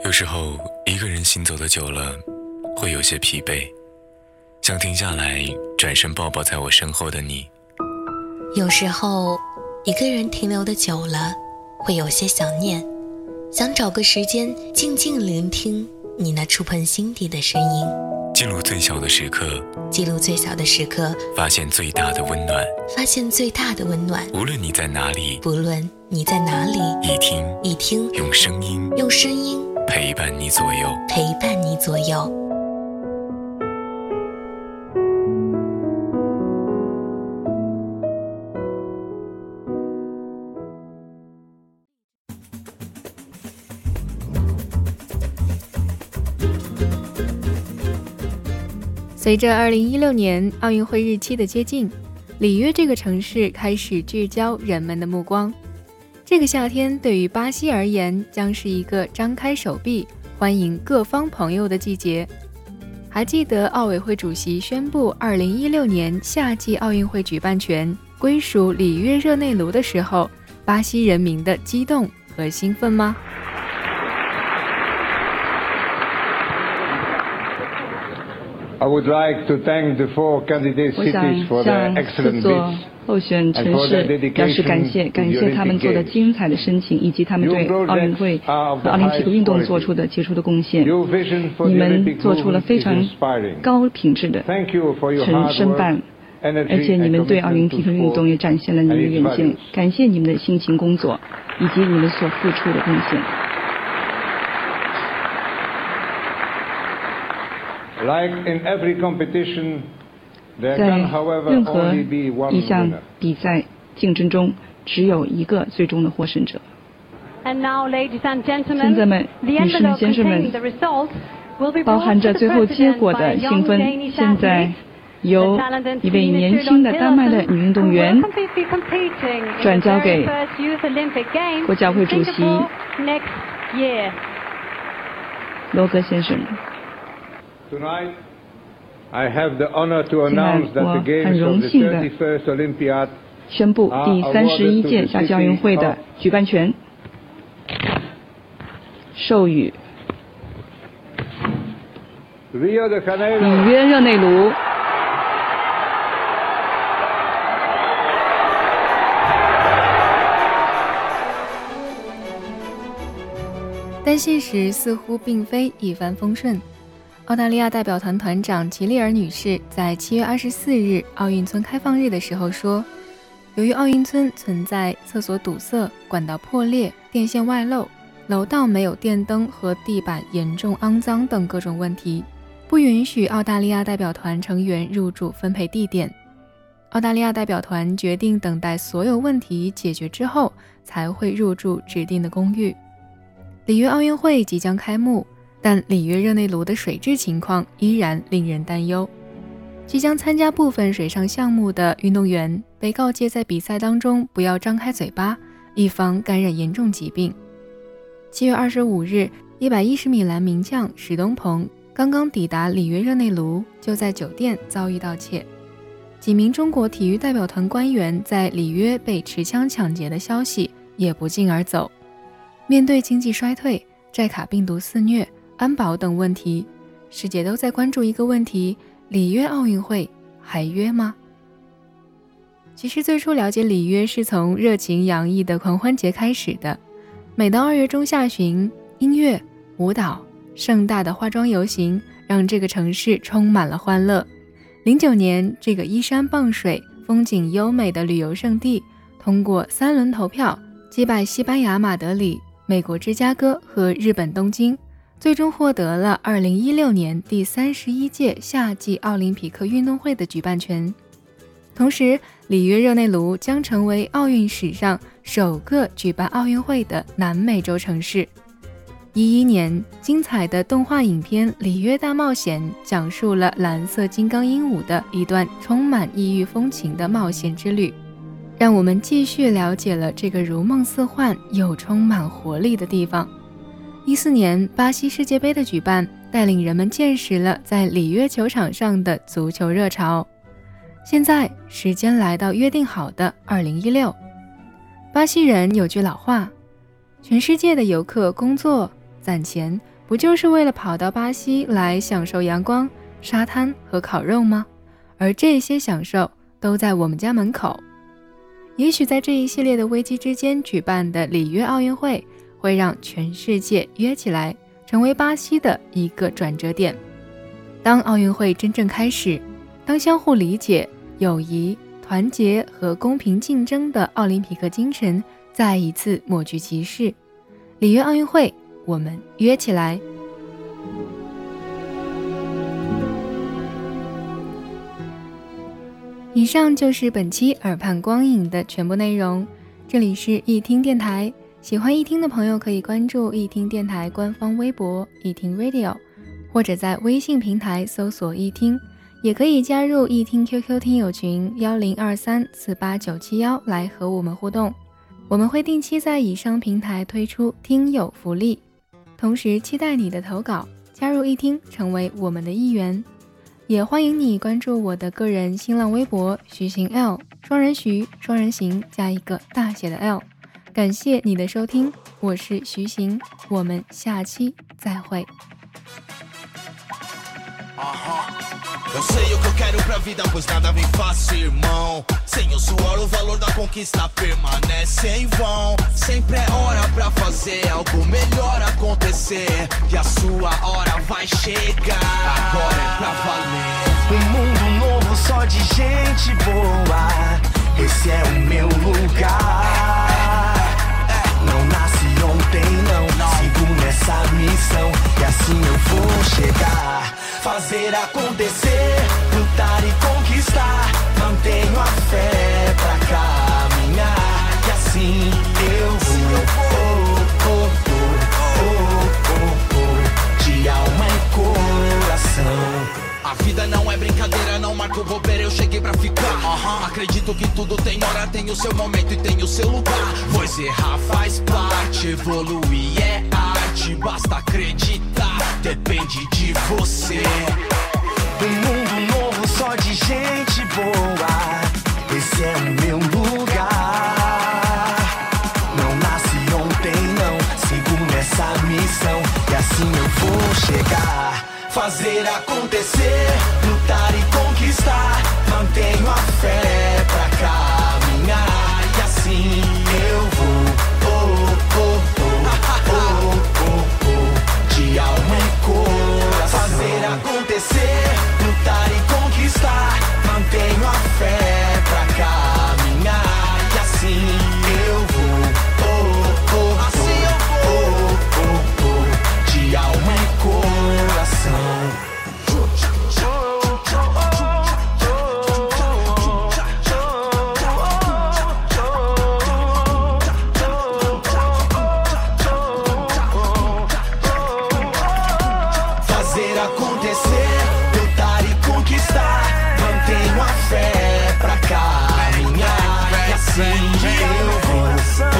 有时候一个人行走的久了，会有些疲惫，想停下来转身抱抱在我身后的你。 有时候一个人停留的久了，会有些想念，想找个时间静静聆听你那触碰心底的声音， 记录最小的时刻， 记录最小的时刻， 发现最大的温暖， 发现最大的温暖。 无论你在哪里， 不论你在哪里，一听用声音陪伴你左右， 陪伴你左右。 随着2016年奥运会日期的接近，里约这个城市开始聚焦人们的目光。这个夏天对于巴西而言，将是一个张开手臂欢迎各方朋友的季节。还记得奥委会主席宣布2016年夏季奥运会举办权归属里约热内卢的时候，巴西人民的激动和兴奋吗 ？I would like to thank the four candidate cities for their excellent bids. 候选城市表示感谢他们做的精彩的申请，以及他们对奥运会和奥林匹克运动做出的杰出的贡献。你们做出了非常高品质的申办，而且你们对奥林匹克运动也展现了你们的远见。感谢你们的辛勤工作以及你们所付出的贡献。 Like in every competition, there 在 can, however, 任何 only be one 一项 winner. 比赛竞争中，只有一个最终的获胜者。 And now, ladies and 现 gentlemen, 在们， the 女士们、 envelope 先生们 containing the results will be 包 brought 含 to 着 the 最后结 President 果 by 的 a 兴 young 奋， Danish 现在 athlete, 由 the talented 一位 Trine 年轻的 Sjöholm 丹麦的 Pedersen, 女运动 who 员 will be competing in 转 the 交 very 给 first Youth Olympic Games 国教会 in 主席 Singapore next year. 罗格先生。 Tonight, I have the honor to announce that the 我很 Games 荣 of the 幸地 31st Olympiad 宣布第31届夏季奥运会的举办权授予 Rio de 里 Janeiro. 约热内卢。 但现实似乎并非一帆风顺。澳大利亚代表团团长齐利尔女士在7月24日奥运村开放日的时候说，由于奥运村存在厕所堵塞、管道破裂、电线外漏、楼道没有电灯和地板严重肮脏等各种问题，不允许澳大利亚代表团成员入住分配地点。澳大利亚代表团决定等待所有问题解决之后，才会入住指定的公寓。里约奥运会即将开幕，但里约热内卢的水质情况依然令人担忧。即将参加部分水上项目的运动员被告诫在比赛当中不要张开嘴巴，以防感染严重疾病。7月25日，110米栏名将史东鹏刚刚抵达里约热内卢，就在酒店遭遇盗窃。几名中国体育代表团官员在里约被持枪抢劫的消息也不胫而走。面对经济衰退、寨卡病毒肆虐、安保等问题，世界都在关注一个问题：里约奥运会还约吗？其实最初了解里约是从热情洋溢的狂欢节开始的。每到2月中下旬，音乐、舞蹈、盛大的化妆游行让这个城市充满了欢乐。09年，这个依山傍水、风景优美的旅游胜地，通过3轮投票击败西班牙马德里、美国芝加哥和日本东京，最终获得了2016年第31届夏季奥林匹克运动会的举办权。同时，里约热内卢将成为奥运史上首个举办奥运会的南美洲城市。11年，精彩的动画影片《里约大冒险》讲述了蓝色金刚鹦鹉的一段充满异域风情的冒险之旅，让我们继续了解了这个如梦似幻又充满活力的地方。14年，巴西世界杯的举办带领人们见识了在里约球场上的足球热潮。现在，时间来到约定好的2016。巴西人有句老话：全世界的游客工作攒钱， 不就是为了跑到巴西来享受阳光、沙滩和烤肉吗？而这些享受都在我们家门口。也许在这一系列的危机之间举办的里约奥运会，会让全世界约起来，成为巴西的一个转折点。当奥运会真正开始，当相互理解、友谊、团结和公平竞争的奥林匹克精神再一次抹去歧视，里约奥运会，我们约起来。以上就是本期耳畔光影的全部内容，这里是一听电台，喜欢一听的朋友可以关注一听电台官方微博一听 Radio， 或者在微信平台搜索一听，也可以加入一听 QQ 听友群1023489971来和我们互动，我们会定期在以上平台推出听友福利，同时期待你的投稿，加入一听成为我们的一员。也欢迎你关注我的个人新浪微博徐行 L， 双人徐，双人行加一个大写的 L。 感谢你的收听，我是徐行，我们下期再会。 Eu sei o que eu quero pra vida, pois nada vem fácil, irmão. Sem o suor, o valor da conquista permanece em vão. Sempre é hora pra fazer algo melhor acontecer, e a sua hora vai chegar. Agora é pra valer. Mundo novo só de gente boa, esse é o meu lugar. Não nasci ontem, não, sigo nessa missão, e assim eu vou chegar. Fazer acontecer, lutar e conquistar, mantenho a fé pra caminhar, e assim eu vou, de alma e coração. A vida não é brincadeira, não marco bobeira, eu cheguei pra ficar. Acredito que tudo tem hora, tem o seu momento e tem o seu lugar. Pois errar faz parte, evoluir é arte, basta acreditar, depende de você. Mundo novo só de gente boa, esse é o meu lugar. Não nasci ontem, não, sigo nessa missão, e assim eu vou chegar. Fazer acontecer, lutar e conquistar, mantenho a fé pra caminhar, e assim eu vou, de alma e coração. Fazer acontecer, lutar e conquistar, mantenho a fé pra caminhar, e assim eu vou, de alma e coração. Acontecer, lutar e conquistar, mantenho a fé pra caminhar, e assim eu vou.